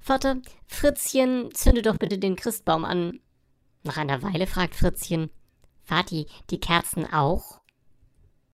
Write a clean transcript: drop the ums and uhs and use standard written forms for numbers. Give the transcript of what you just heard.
Vater, Fritzchen, zünde doch bitte den Christbaum an. Nach einer Weile fragt Fritzchen: Vati, die Kerzen auch?